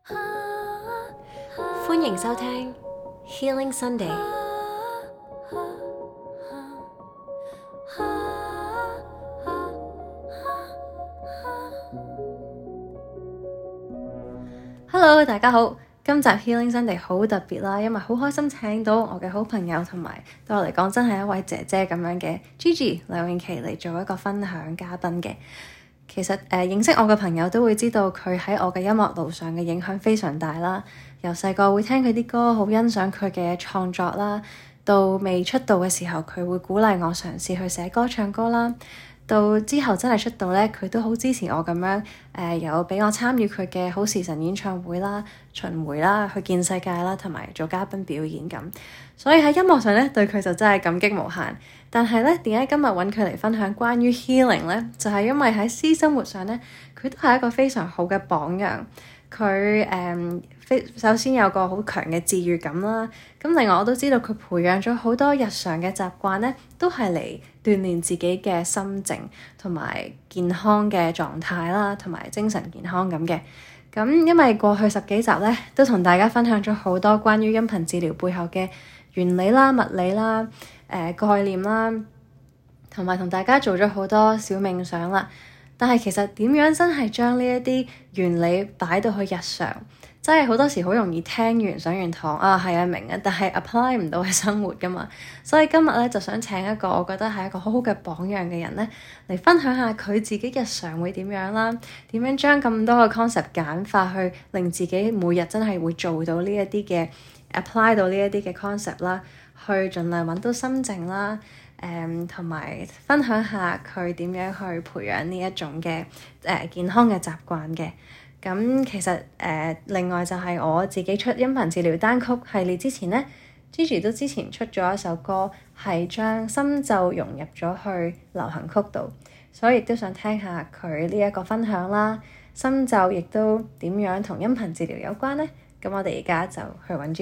歡迎收聽 Healing Sunday。Hello， 大家好。今集 Healing Sunday 好特別啦，因為好開心請到我嘅好朋友同埋對我嚟講真係一位姐姐咁樣嘅 Gigi 梁詠琪嚟做一個分享嘉賓嘅。其實認識我嘅朋友都會知道佢喺我嘅音樂路上嘅影響非常大啦。由細個會聽佢啲歌，好欣賞佢嘅創作啦。到未出道嘅時候，佢會鼓勵我嘗試去寫歌唱歌啦。到之後真係出道咧，佢都好支持我咁樣有俾我參與佢嘅好時辰演唱會啦、巡迴啦、去見世界啦，同埋做嘉賓表演咁。所以喺音樂上咧，對佢就真係感激無限。但係咧，點解今日揾佢嚟分享關於 healing 咧？就係因為喺私生活上咧，佢都係一個非常好嘅榜樣。佢首先有個好強嘅治癒感啦。咁另外我都知道佢培養咗好多日常嘅習慣咧，都係嚟鍛鍊自己嘅心靜同埋健康嘅狀態啦，同埋精神健康咁嘅。咁因為過去10幾集咧，都同大家分享咗好多關於音頻治療背後嘅原理啦、物理啦、概念啦，同埋同大家做咗好多小冥想啦。但係其實點樣真係將呢一啲原理擺到去日常，真係好多時好容易聽完上完堂係啊明啊，但係 apply 唔到喺生活㗎嘛。所以今日咧就想請一個我覺得係一個好好嘅榜樣嘅人咧，嚟分享下佢自己日常會點樣啦，點樣將咁多嘅 concept 簡化去令自己每日真係會做到呢一啲嘅 apply 到呢一啲嘅 concept 啦，去盡量揾到心靜啦。同埋分享下佢點樣去培養呢一種嘅健康嘅習慣嘅。咁其實另外就係我自己出音頻治療單曲系列之前咧，Gigi 都之前出咗一首歌，係將心咒融入咗去流行曲度，所以亦都想聽下佢呢一個分享啦。心咒亦都點樣同音頻治療有關咧？咁我哋而家就去揾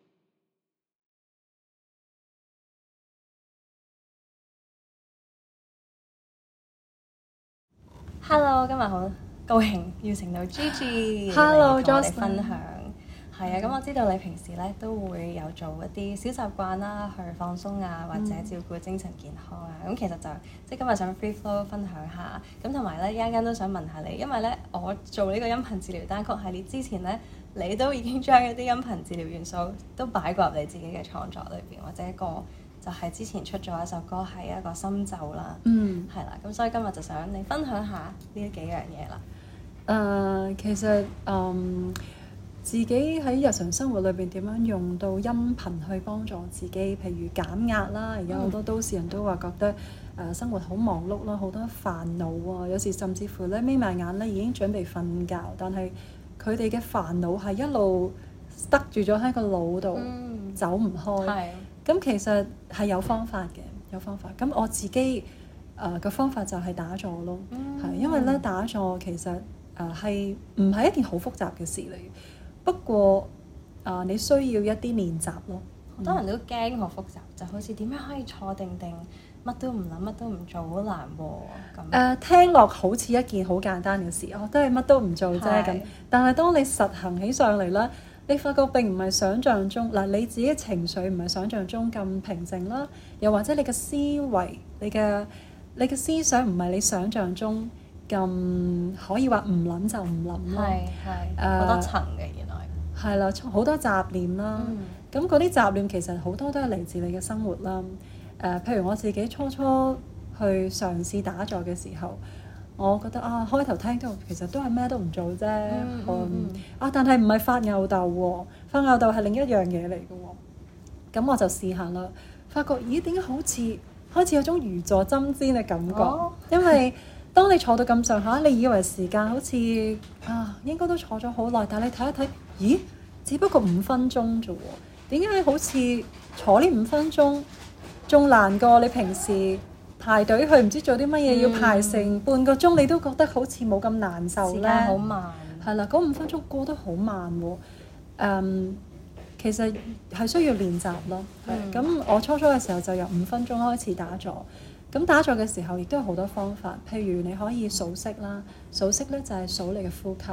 Gigi。Hello， 今日好高興邀請到 Gigi 嚟同我哋分享。係啊，咁我知道你平時咧都會有做一啲小習慣啦，去放鬆啊，或者照顧精神健康啊。咁其實就即係今日想 free flow 分享下。咁同埋咧，一陣間都想問下你，因為咧我做呢個音頻治療單曲系列之前咧，你都已經將一啲音頻治療元素都擺過入你自己嘅創作裏邊，或者一個就係之前出咗一首歌係一個心咒啦。係啦，咁所以今日就想你分享下呢幾樣嘢啦。 其實自己喺日常生活裏邊點樣用到音頻去幫助自己，譬如減壓啦。而家好多都市人都話覺得生活好忙碌啦，好多煩惱啊，有時甚至乎咧眯埋眼咧已經準備瞓覺，但係佢哋嘅煩惱係一路塞住咗喺個腦度，走唔開。咁其實係有方法嘅，有方法。咁我自己嘅方法就係打坐咯，係因為咧打坐其實係唔係一件好複雜嘅事嚟。不過你需要一啲練習咯。 好多人都驚好複雜，就好似點樣可以坐定定，乜都唔諗，乜都唔做，好難喎。 聽落好似一件好簡單嘅事，都係乜都唔做啫咁。但係當你實行起上嚟啦，你發覺並唔係想像中你自己嘅情緒唔係想像中咁平靜啦，又或者你嘅思維、你嘅思想唔係你想像中咁可以話唔諗就唔諗啦。 好多層嘅原來。 係啦，好多雜念啦。咁嗰啲雜念其實好多都係嚟自你嘅生活啦。譬如我自己初去嘗試打坐嘅時候，我覺得開頭聽到其實都係咩都唔做啫。但係唔係發吽哣喎，發吽哣係另一樣嘢嚟嘅喎。咁我就試下啦，發覺點解好似開始有種如坐針氈嘅感覺。因為當你坐到咁上下，你以為時間好似應該都坐咗好耐，但係你睇一睇，咦？只不過5分鐘啫喎，點解好似坐呢5分鐘仲難過你平時排隊去唔知做啲乜嘢要排成半個鐘，你都覺得好似冇咁難受咧。 時間好慢。 係啦，嗰5分鐘過得好慢喎。其實係需要練習咯。咁我初嘅時候就由5分鐘開始打坐。咁打坐嘅時候亦都有好多方法，譬如你可以數息啦，數息咧就係數你嘅呼吸。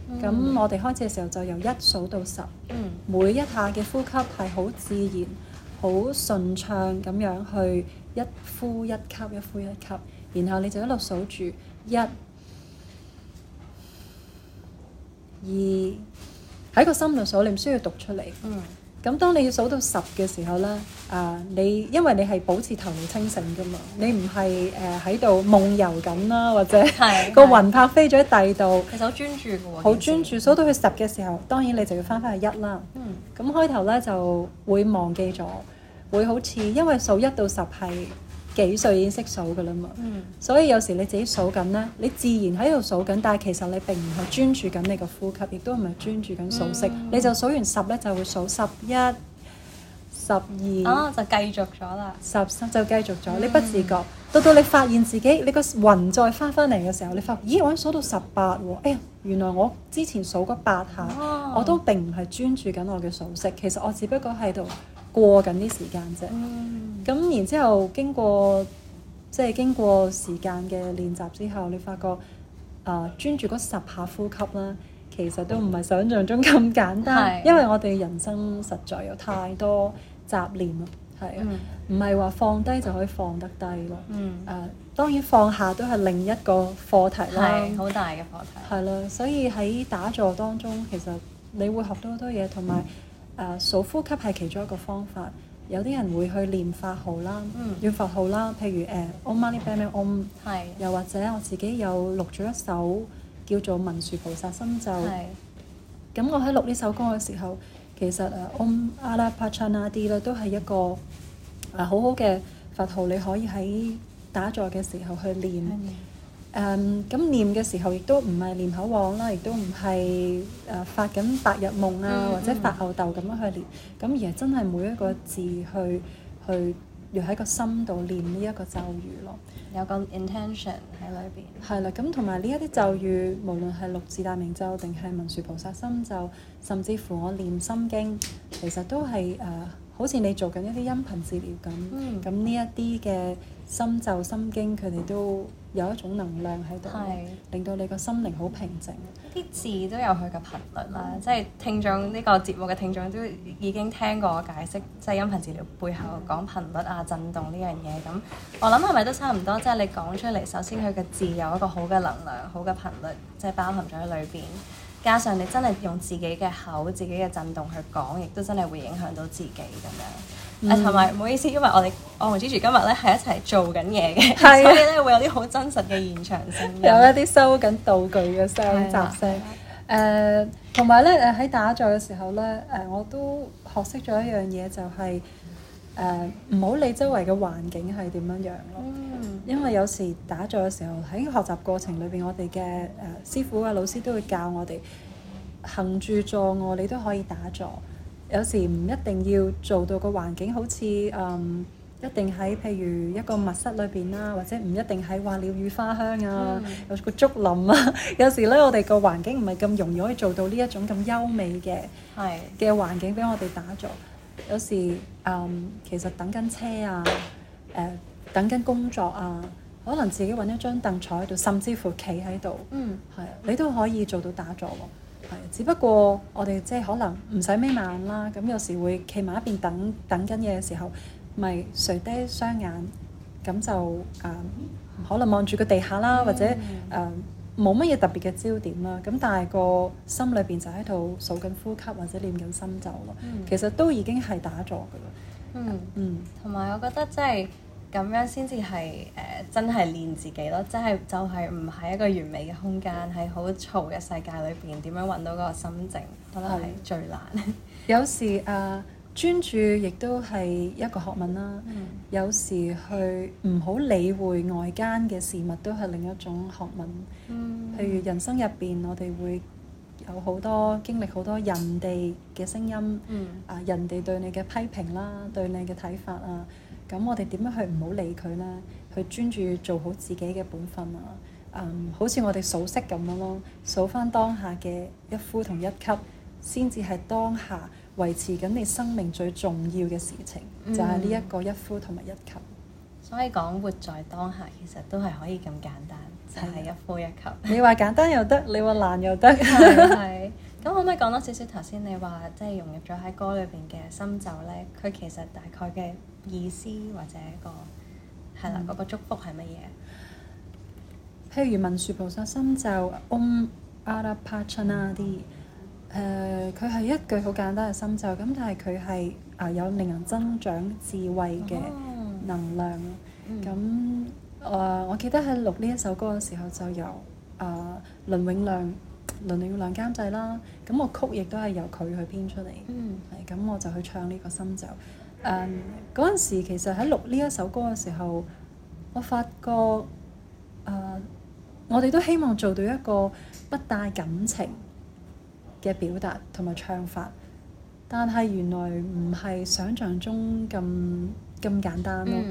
咁我哋開始嘅時候就由1數到10，每一下嘅呼吸係好自然、好順暢咁樣去一呼一吸、一呼一吸，然後你就一路數住1、2，喺個心度數，你唔需要讀出嚟。咁當你要數到10嘅時候咧，因為你係保持頭腦清醒噶嘛，你唔係喺度夢遊緊啦，或者個魂魄飛咗喺第二度。 其實好專注嘅喎。 好專注，數到去10嘅時候，當然你就要翻去1啦。咁開頭咧就會忘記咗，會好似因為數1到10係幾歲已經識數噶啦嘛。所以有時你自己數緊咧，你自然喺度數緊，但係其實你並唔係專注緊你個呼吸，亦都唔係專注緊數息。你就數完10咧，就會數11、12， 就繼續咗啦。 13就繼續咗，你不自覺，到你發現自己你個魂再翻嚟嘅時候，你發現咦，我已經數到18喎，哎呀，原來我之前數嗰8下，我都並唔係專注緊我嘅數息，其實我只不過喺度過緊啲時間啫。咁然之後經過時間嘅練習之後，你發覺專注嗰10下呼吸啦，其實都唔係想像中咁簡單，因為我哋人生實在有太多雜念啦，係啊，唔係話放低就可以放得低咯。當然放下都係另一個課題啦， 係好大嘅課題。 係啦，所以喺打坐當中，其實你會學到好多嘢，同埋數呼吸係其中一個方法。有啲人會去念法號啦，念佛號啦，譬如Om Mani Padme Hum，又或者我自己有錄咗一首叫做文殊菩薩心咒。咁我喺錄呢首歌嘅時候，其實Om Arapachanadi 咧都係一個好好嘅佛號，你可以喺打坐嘅時候去念。咁念嘅時候亦都唔係念口簧啦，亦都唔係發緊白日夢啊，或者發吽哣咁樣去念，咁而係真係每一個字去要喺個心度念呢一個咒語咯， 有個 intention 喺裏邊。 係啦，咁同埋呢一啲咒語，無論係六字大明咒定係文殊菩薩心咒，甚至乎我念心經，其實都係好似你做緊一啲音頻治療咁。咁呢一啲嘅心咒心經，佢哋都有一種能量喺度，令到你個心靈好平靜。 啲字都有佢嘅頻率啦，即係聽眾呢個節目嘅聽眾都已經聽過我解釋，即係音頻治療背後講頻率啊、震動呢樣嘢。咁我諗係咪都差唔多？即係你講出嚟，首先佢嘅字有一個好嘅能量、好嘅頻率，即係包含咗喺裏邊。加上你真係用自己嘅口、自己嘅震動去講，亦都真係會影響到自己咁樣。同埋唔好意思，因為我同 Gigi 今日咧係一齊做緊嘢嘅，所以咧會有啲好真實嘅現場聲音， 有一啲收緊道具嘅聲、雜聲。同埋咧喺打坐嘅時候咧，我都學識咗一樣嘢，就係唔好理周圍嘅環境係點樣樣咯。因為有時打坐嘅時候喺學習過程裏邊，我哋嘅師傅啊、老師都會教我哋行住坐臥，你都可以打坐。有時唔一定要做到個環境好似一定喺譬如一個密室裏邊啦，或者唔一定喺話鳥語花香啊，有個竹林啊。有時咧，我哋個環境唔係咁容易可以做到呢一種咁優美嘅環境俾我哋打坐。有時其實等緊車啊，等緊工作啊，可能自己揾一張凳坐喺度，甚至乎企喺度，你都可以做到打坐喎。只不過我哋即係可能唔使眯埋眼啦，咁有時會企埋一邊等緊嘢嘅時候，咪垂低雙眼，咁就可能望住個地下啦，或者冇乜嘢特別嘅焦點啦，咁但係個心裏邊就喺度數緊呼吸或者念緊心咒咯。其實都已經係打坐㗎啦。 同埋我覺得即係咁樣先至係真係練自己咯，即係就係唔係一個完美嘅空間，喺好嘈嘅世界裏邊點樣揾到嗰個心靜，我覺得係最難。 有時專注亦都係一個學問啦。有時去唔好理會外間嘅事物，都係另一種學問。譬如人生入邊，我哋會有好多經歷好多人哋嘅聲音，人哋對你嘅批評啦，對你嘅睇法啊，咁我哋點樣去唔好理佢呢？去專注做好自己嘅本分啊！好似我哋數息咁樣咯，數返當下嘅一呼同一吸，先至係當下維持緊你生命最重要嘅事情，就係呢一個一呼同埋一吸。 所以講活在當下，其實都係可以咁簡單， 就係一呼一吸。 你話簡單又得，你話難又得。 係。咁可唔可以講多少少頭先你話即係融入咗喺歌裏邊嘅深酒咧？佢其實大概嘅意思或者係啦嗰個祝福係乜嘢？ 譬如文殊菩薩深咒 Om Arapachanadi，佢係一句好簡單嘅深咒，咁但係佢係有令人增長智慧嘅能量。咁我記得喺錄呢一首歌嘅時候，就由倫永亮監製啦。咁我曲亦都係由佢去編出嚟。咁我就去唱呢個深咒。嗰陣時其實喺錄呢一首歌嘅時候，我發覺我哋都希望做到一個不帶感情嘅表達同埋唱法，但係原來唔係想像中咁簡單咯。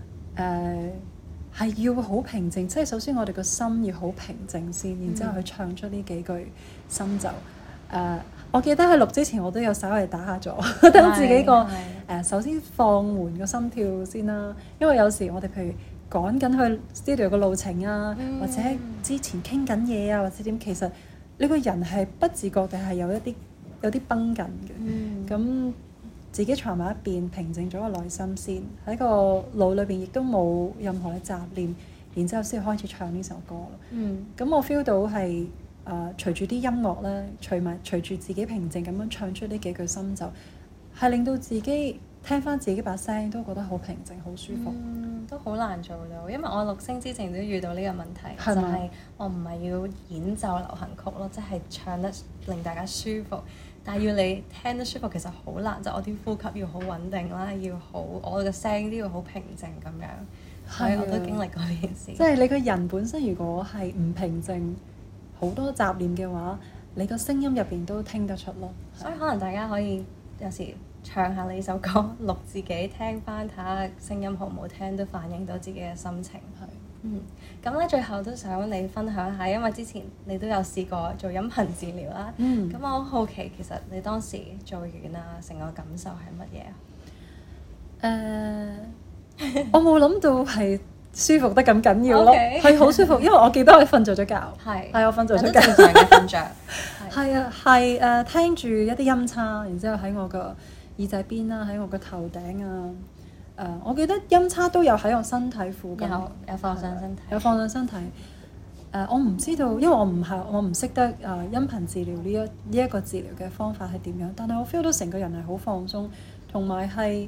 係要好平靜，即係首先我哋個心要好平靜先，然之後去唱出呢幾句深咒。我記得喺錄之前我都有稍微打下坐，等自己首先放緩個心跳先啦。因為有時我哋譬如趕緊去 studio 嘅路程啊，或者之前傾緊嘢啊，或者點，其實你個人係不自覺地係有啲繃緊嘅。咁自己坐埋一邊，平靜咗個內心先，喺個腦裏邊亦都冇任何嘅雜念，然之後先開始唱呢首歌。咁我 feel 到係隨住啲音樂咧，隨住自己平靜咁樣唱出呢幾句深咒，係令到自己聽翻自己把聲都覺得好平靜、好舒服。 都好難做到，因為我錄聲之前都遇到呢個問題，就係我唔係要演奏流行曲咯，即係唱得令大家舒服。但係要你聽得舒服，其實好難，就我啲呼吸要好穩定啦，我嘅聲都要好平靜咁樣。所以我都經歷過呢件事。 即係你個人本身如果係唔平靜，好多雜念嘅話，你個聲音入邊都聽得出咯。 所以可能大家可以有時唱下呢首歌，錄自己聽翻，睇下聲音好唔好聽，都反映到自己嘅心情。咁咧最後都想你分享下，因為之前你都有試過做音頻治療啦。咁我好好奇，其實你當時做完成個感受係乜嘢？ 我冇諗到係舒服得咁緊要咯，係好舒服，因為我記得我瞓咗覺。係我瞓咗覺。 正常嘅瞓着。 係啊，係聽住一啲音叉，然之後喺我個耳仔邊啦，喺我個頭頂啊。我記得音叉都有喺我身體附近， 有放上身體， 有放上身體。我唔知道，因為我唔識得音頻治療呢一個治療嘅方法係點樣，但係我 feel 到成個人係好放鬆，同埋係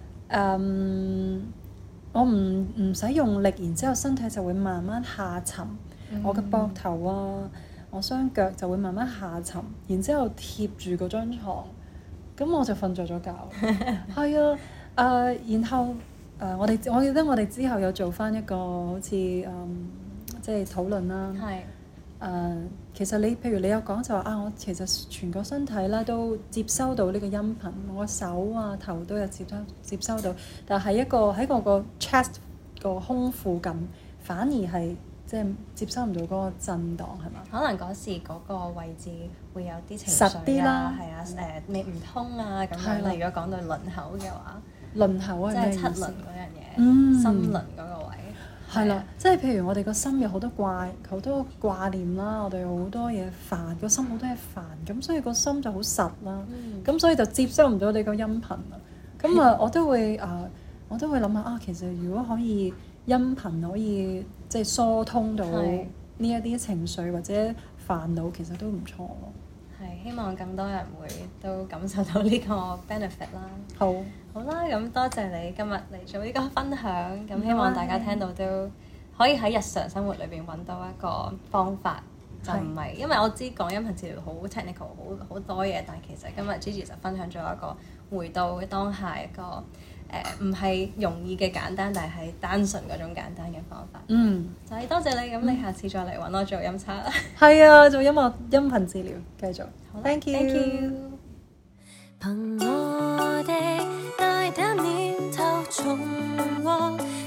我唔使用力，然之後身體就會慢慢下沉。我嘅膊頭啊，我雙腳就會慢慢下沉，然之後貼住嗰張牀，咁我就瞓咗覺。係啊。然後我記得我哋之後有做翻一個好似即係討論啦。其實譬如你有講就話我其實全個身體咧都接收到呢個音頻，我手啊頭都有接收到，但係喺我個 chest 個胸附近，反而係即係接收唔到嗰個震盪，係嘛？ 可能嗰時嗰個位置會有啲情實啲啦， 係啊，你唔通啊咁樣。如果講到輪口嘅話。 輪口係咩意思？ 即係七輪嗰樣嘢，心輪嗰個位。 係啦，即係譬如我哋個心有好多掛念啦，我哋好多嘢煩，個心好多嘢煩，咁所以個心就好實啦。咁所以就接收唔到你個音頻啦。咁我都會諗下其實如果可以音頻可以即係疏通到呢一啲情緒或者煩惱，其實都唔錯咯。 係，希望更多人會都感受到呢個 benefit 啦。好啦，咁多謝你今日嚟做呢個分享，咁希望大家聽到都可以喺日常生活裏邊揾到一個方法，就唔係因為我知講音頻治療好 technical， 好多嘢，但係其實今日 Gigi 就分享咗一個回到當下一個唔係容易嘅簡單，但係單純嗰種簡單嘅方法。就係多謝你，咁你下次再嚟揾我做音叉啦。 係啊，做音頻治療，繼續。Thank you。 憑我的大膽念頭從我